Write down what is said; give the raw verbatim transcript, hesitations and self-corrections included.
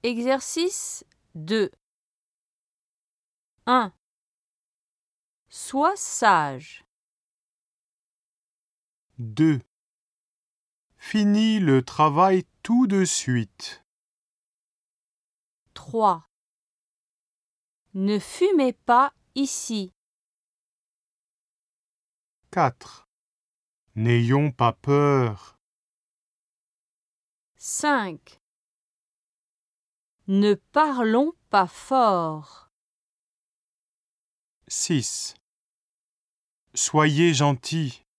Exercice deux. un. Sois sage. deux. Finis le travail tout de suite. trois. Ne fumez pas ici. quatre. N'ayons pas peur. cinq. Ne parlons pas fort. six. Soyez gentils.